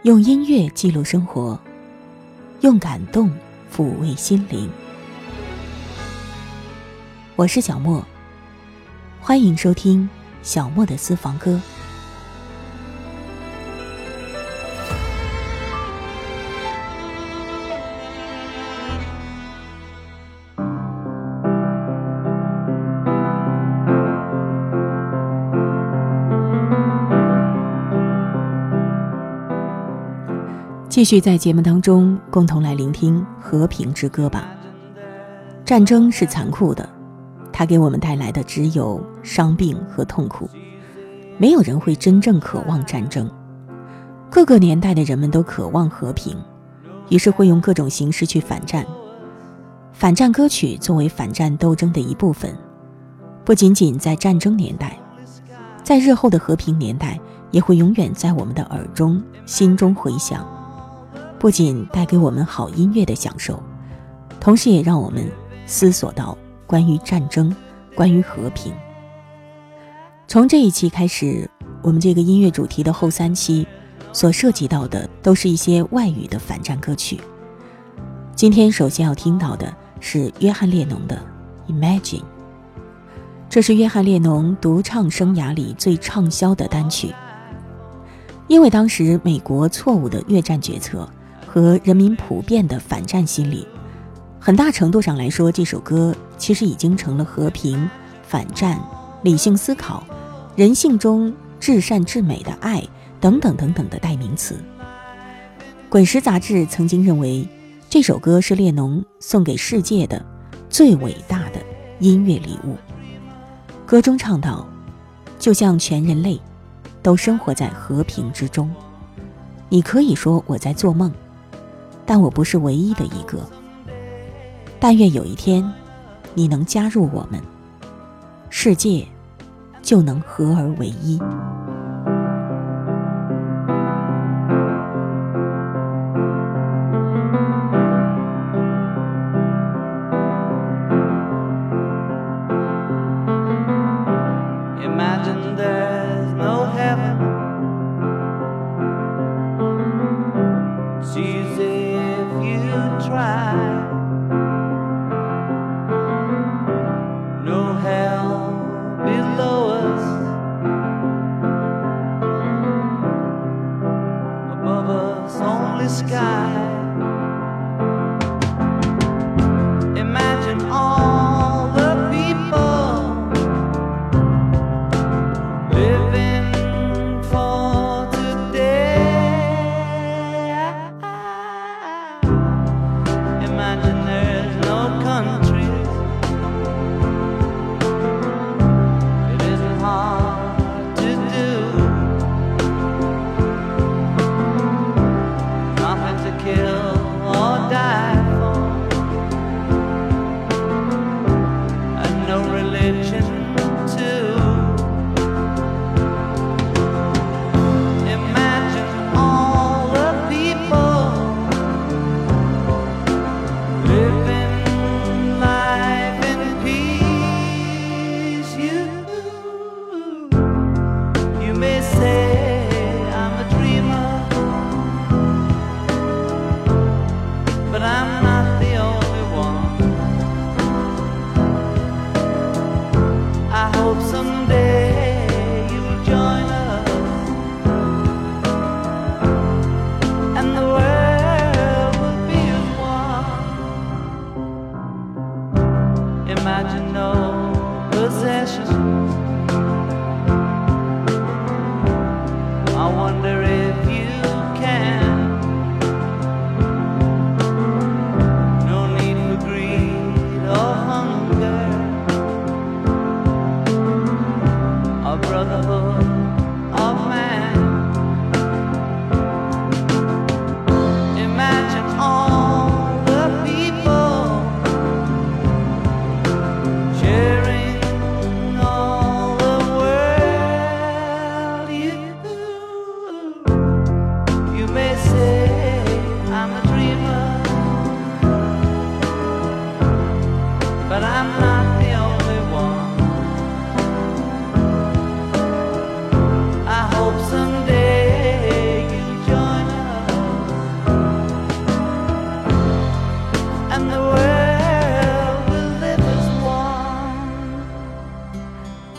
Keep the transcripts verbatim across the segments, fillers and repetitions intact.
用音乐记录生活，用感动抚慰心灵。我是小莫，欢迎收听小莫的私房歌。继续在节目当中共同来聆听和平之歌吧。战争是残酷的，它给我们带来的只有伤病和痛苦，没有人会真正渴望战争。各个年代的人们都渴望和平，于是会用各种形式去反战。反战歌曲作为反战斗争的一部分，不仅仅在战争年代，在日后的和平年代也会永远在我们的耳中心中回响，不仅带给我们好音乐的享受，同时也让我们思索到关于战争，关于和平。从这一期开始，我们这个音乐主题的后三期所涉及到的都是一些外语的反战歌曲。今天首先要听到的是约翰列侬的 Imagine， 这是约翰列侬独唱生涯里最畅销的单曲。因为当时美国错误的越战决策和人民普遍的反战心理，很大程度上来说，这首歌其实已经成了和平、反战、理性思考、人性中至善至美的爱等等等等的代名词。滚石杂志曾经认为，这首歌是列侬送给世界的最伟大的音乐礼物。歌中唱道，就像全人类都生活在和平之中，你可以说我在做梦，但我不是唯一的一个。但愿有一天你能加入我们，世界就能合而为一。 But I'm not the only one.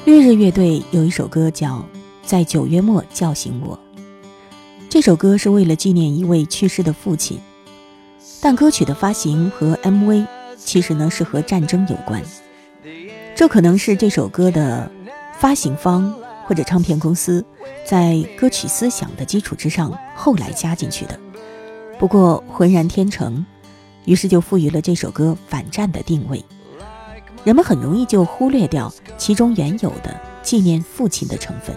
绿日乐队有一首歌叫《在九月末叫醒我》，这首歌是为了纪念一位去世的父亲，但歌曲的发行和 M V 其实呢是和战争有关，这可能是这首歌的发行方或者唱片公司在歌曲思想的基础之上后来加进去的。不过浑然天成，于是就赋予了这首歌反战的定位，人们很容易就忽略掉其中原有的纪念父亲的成分。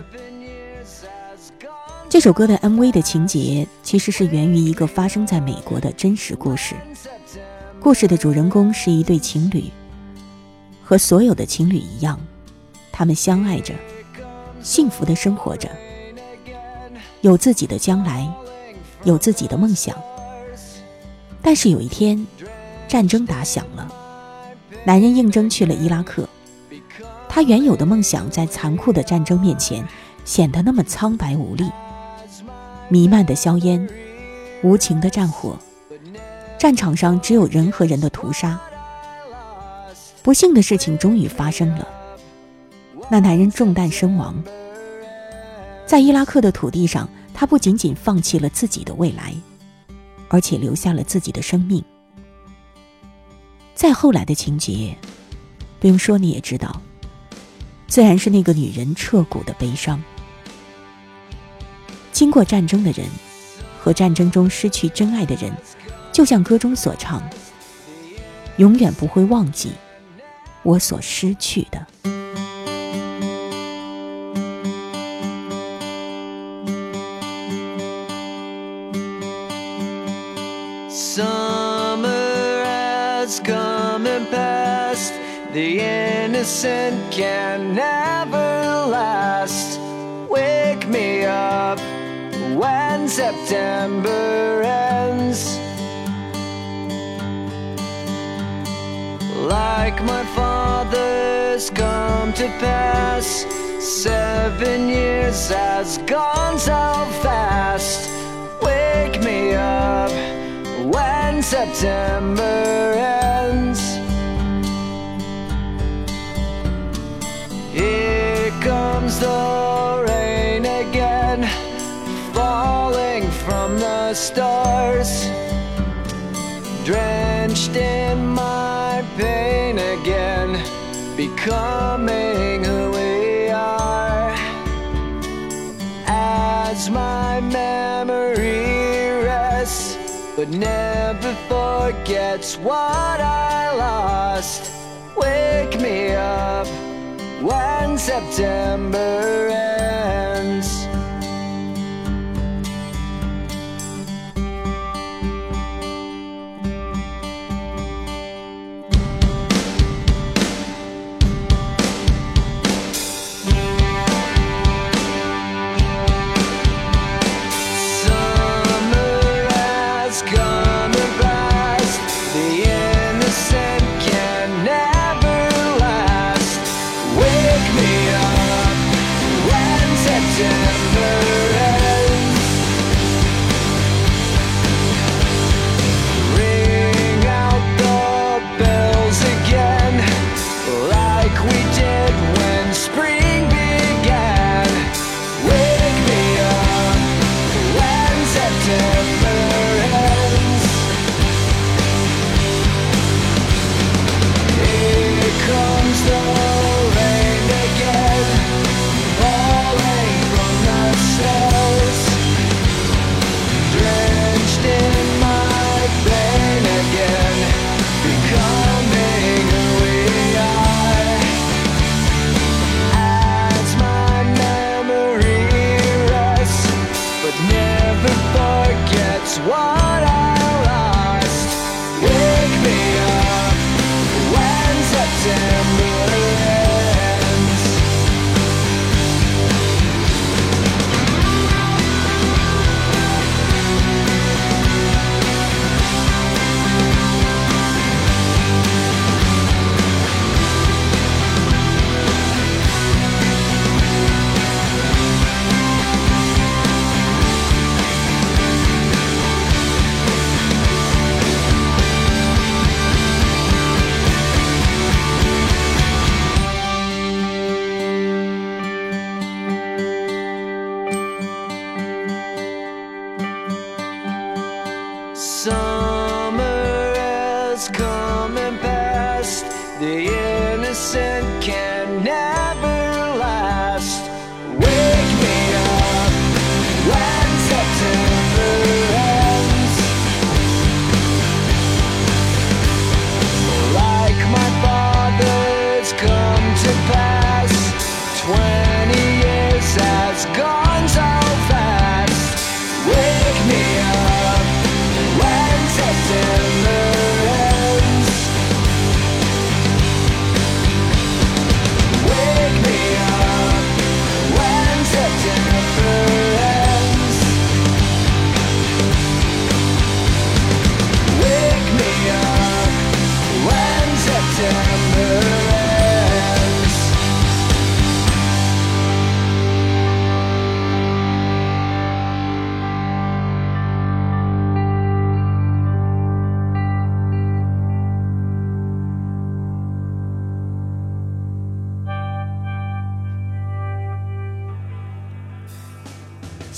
这首歌的 M V 的情节其实是源于一个发生在美国的真实故事，故事的主人公是一对情侣，和所有的情侣一样，他们相爱着，幸福地生活着，有自己的将来，有自己的梦想。但是有一天，战争打响了，男人应征去了伊拉克，他原有的梦想在残酷的战争面前显得那么苍白无力。弥漫的硝烟，无情的战火，战场上只有人和人的屠杀。不幸的事情终于发生了，那男人中弹身亡。在伊拉克的土地上，他不仅仅放弃了自己的未来，而且留下了自己的生命。再后来的情节，不用说你也知道，自然是那个女人彻骨的悲伤。经过战争的人和战争中失去真爱的人，就像歌中所唱，永远不会忘记我所失去的。 Summer has come and passed. The innocent can never last. Wake me up when September ends. Like my father's come to pass, seven years has gone so fast. Wake me up when September ends. Here comes the rain again, falling from the stars, drenched in my pain again, becoming who we are. As my memory rests, but never forgets what I lost. Wake me up when September ends. When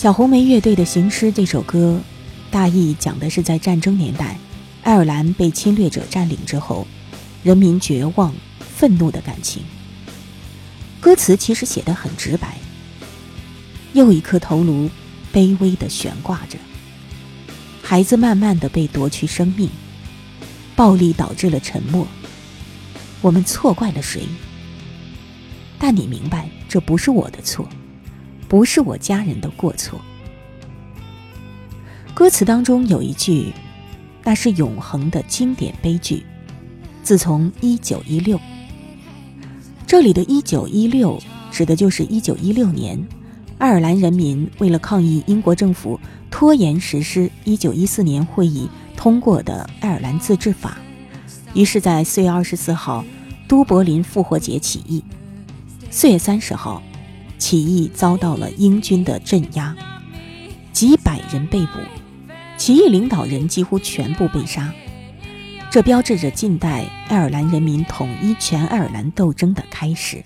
小红莓乐队的《行尸》这首歌，大意讲的是在战争年代，爱尔兰被侵略者占领之后，人民绝望、愤怒的感情。歌词其实写得很直白，又一颗头颅卑微地悬挂着，孩子慢慢地被夺去生命，暴力导致了沉默，我们错怪了谁？但你明白，这不是我的错，不是我家人的过错。歌词当中有一句，那是永恒的经典悲剧，自从一九一六，这里的一九一六指的就是一九一六年，爱尔兰人民为了抗议英国政府拖延实施一九一四年会议通过的爱尔兰自治法，于是在四月二十四号都柏林复活节起义。四月三十号，起义遭到了英军的镇压，几百人被捕，起义领导人几乎全部被杀。这标志着近代爱尔兰人民统一全爱尔兰斗争的开始。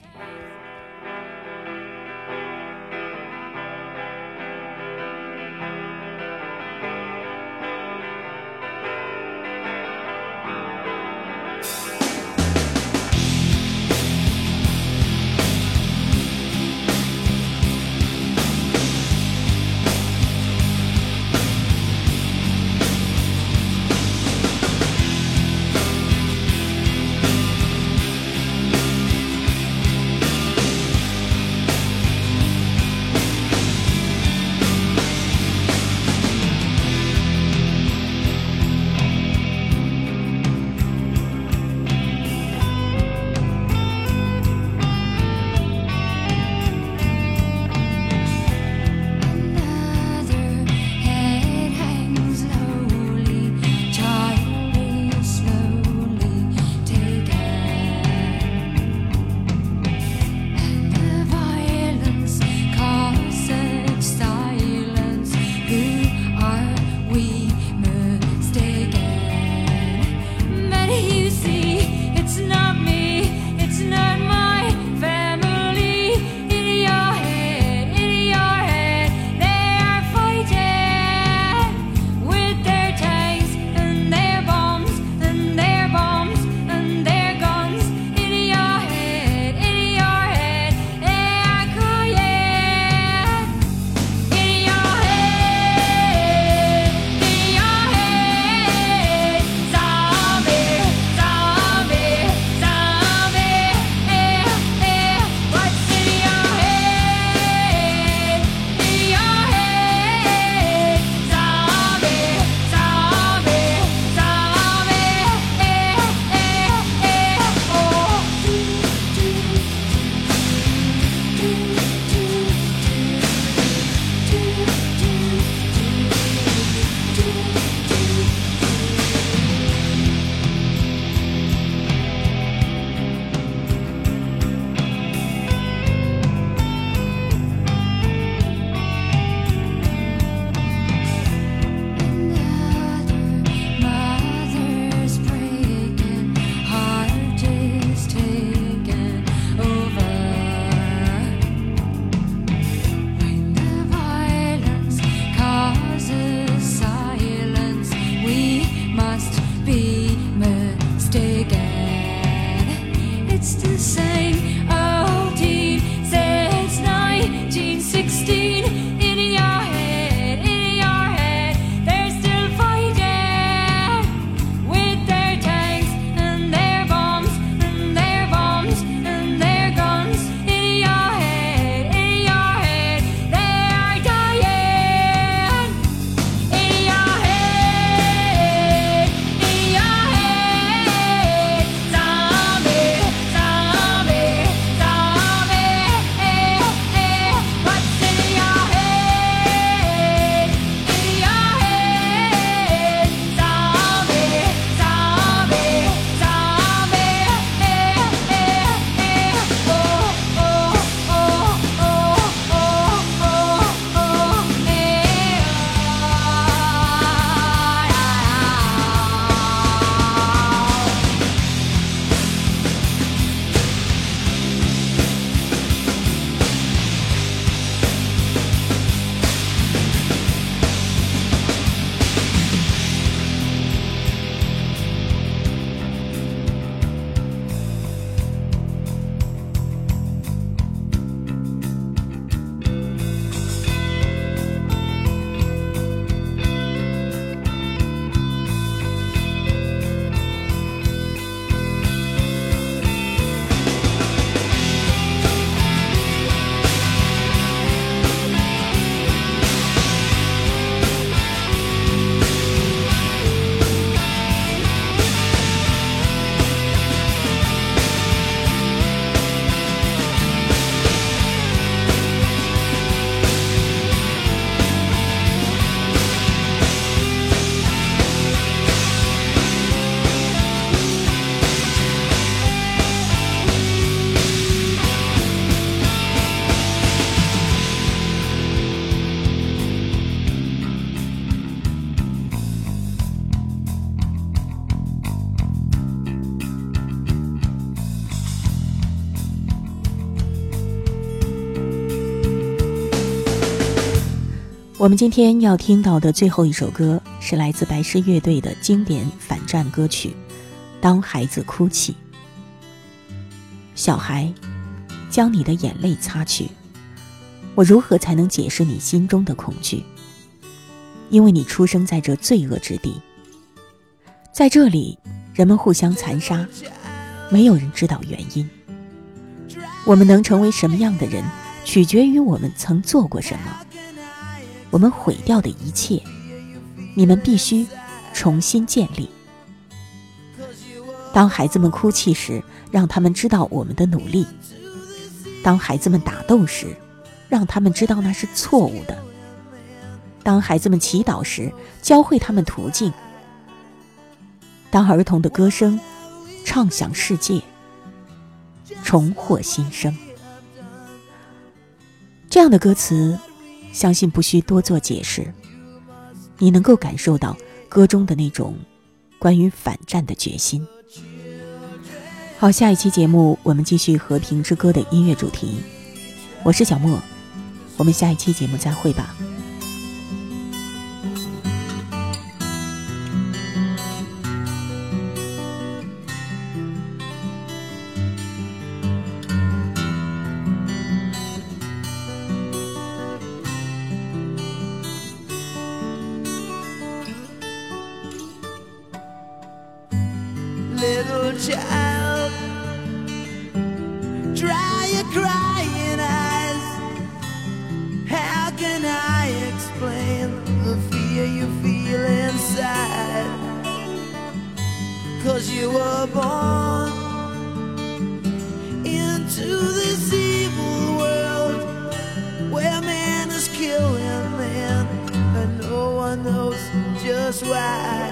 我们今天要听到的最后一首歌是来自白狮乐队的经典反战歌曲《当孩子哭泣》。小孩，将你的眼泪擦去，我如何才能解释你心中的恐惧？因为你出生在这罪恶之地，在这里人们互相残杀，没有人知道原因。我们能成为什么样的人，取决于我们曾做过什么。我们毁掉的一切，你们必须重新建立。当孩子们哭泣时，让他们知道我们的努力；当孩子们打斗时，让他们知道那是错误的；当孩子们祈祷时，教会他们途径；当儿童的歌声唱响世界，重获新生。这样的歌词相信不需多做解释，你能够感受到歌中的那种关于反战的决心。好，下一期节目我们继续和平之歌的音乐主题。我是小莫，我们下一期节目再会吧。 Little child, dry your crying eyes. How can I explain the fear you feel inside? 'Cause you were born into this evil world where man is killing man, and no one knows just why.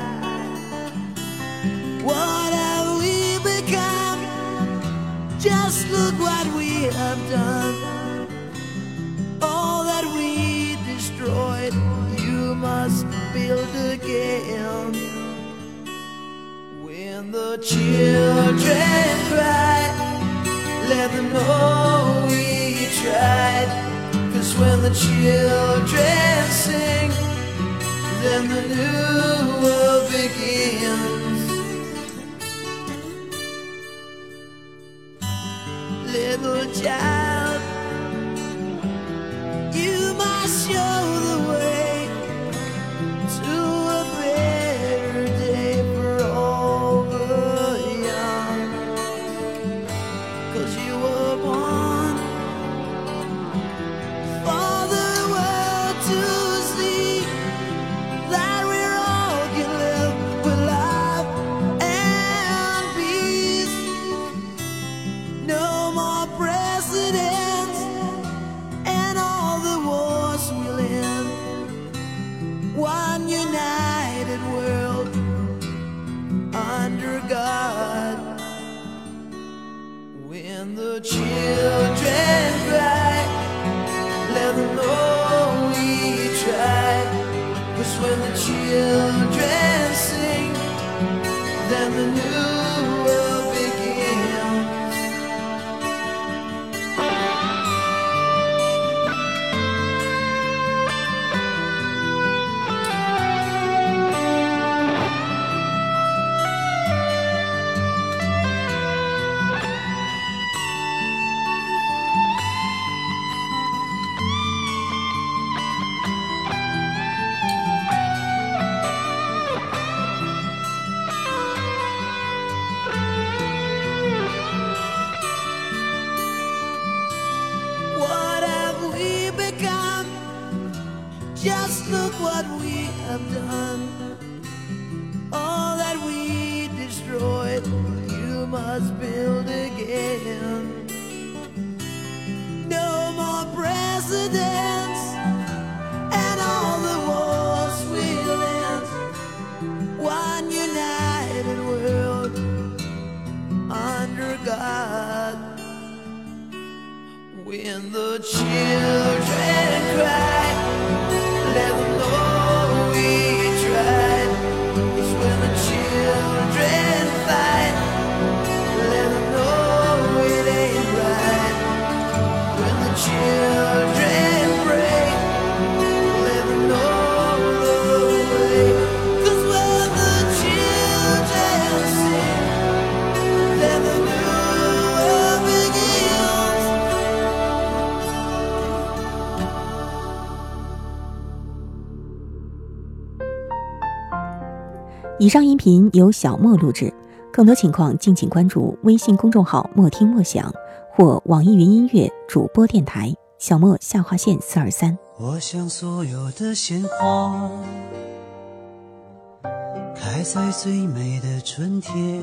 What have we become? Just look what we have done. All that we destroyed, you must build again. When the children cry, let them know we tried. 'Cause when the children sing, then the new world begins. Little child, you must show the way to a better day for all the young. 'Cause you were born for the world to see that we all can live with love and peace. No more presidents and all the wars we'll end. One united world under God. When the children cry, let them know we tried. 'Cause when the children sing, then the new world begins. Just look what we have done. All that we destroyed, you must build again. No more presidents and all the wars we'll end. One united world under God. When the children cry, let them know we tried. 'Cause when the children fight, let them know it ain't right. When the children break, let them 以上音频由小莫录制，更多情况敬请关注微信公众号莫听莫想或网易云音乐主播电台小莫下划线四二三。 我想所有的鲜花开在最美的春天，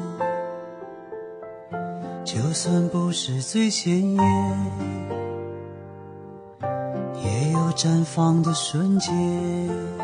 就算不是最鲜艳，也有绽放的瞬间。